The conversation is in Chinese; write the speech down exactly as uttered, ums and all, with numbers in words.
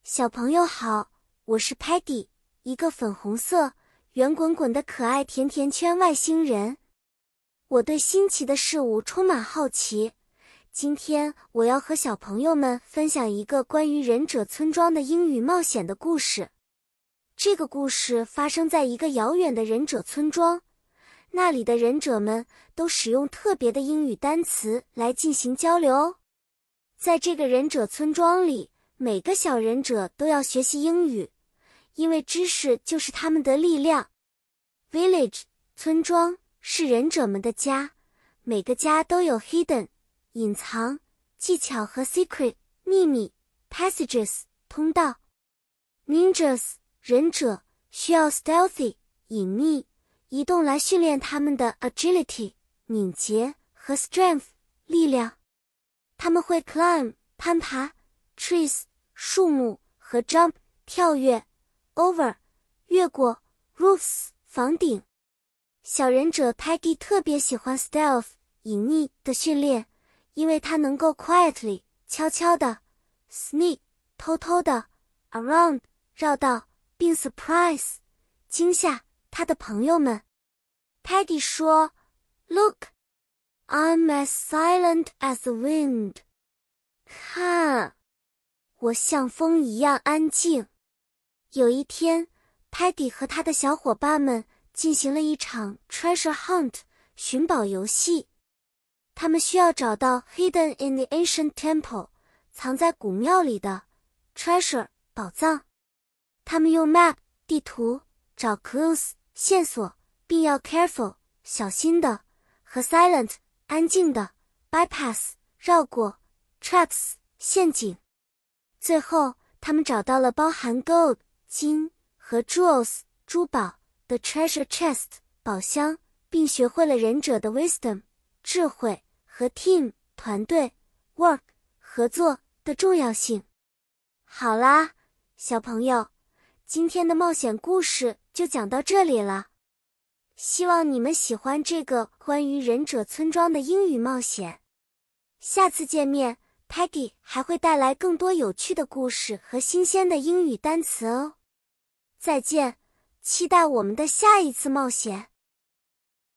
小朋友好，我是 Patty， 一个粉红色、圆滚滚的可爱甜甜圈外星人。我对新奇的事物充满好奇。今天我要和小朋友们分享一个关于忍者村庄的英语冒险的故事。这个故事发生在一个遥远的忍者村庄，那里的忍者们都使用特别的英语单词来进行交流哦。在这个忍者村庄里，每个小忍者都要学习英语，因为知识就是他们的力量。Village 村庄是忍者们的家，每个家都有 hidden 隐藏、技巧和 secret 秘密、passages 通道。Ninjas 忍者需要 stealthy 隐秘移动来训练他们的 agility 敏捷和 strength 力量。他们会 climb 攀爬 trees 树木和 jump 跳跃 over 越过 roofs 房顶。小忍者 Peggy 特别喜欢 stealth 隐匿的训练，因为他能够 quietly 悄悄的 sneak 偷偷的 around 绕道并 surprise 惊吓他的朋友们。Peggy 说 Look, I'm as silent as the wind. 看，我像风一样安静。有一天 Peggy 和他的小伙伴们进行了一场 treasure hunt 寻宝游戏。他们需要找到 hidden in the ancient temple 藏在古庙里的 treasure 宝藏。他们用 map 地图找 clues 线索，并要 careful 小心的和 silent 安静的 bypass 绕过 traps 陷阱。最后他们找到了包含 gold 金和 jewels 珠宝的 treasure chest 宝箱，并学会了忍者的 wisdom 智慧和 team 团队 work 合作的重要性。好啦，小朋友，今天的冒险故事就讲到这里了。希望你们喜欢这个关于忍者村庄的英语冒险。下次见面， Peggy 还会带来更多有趣的故事和新鲜的英语单词哦。再见，期待我们的下一次冒险。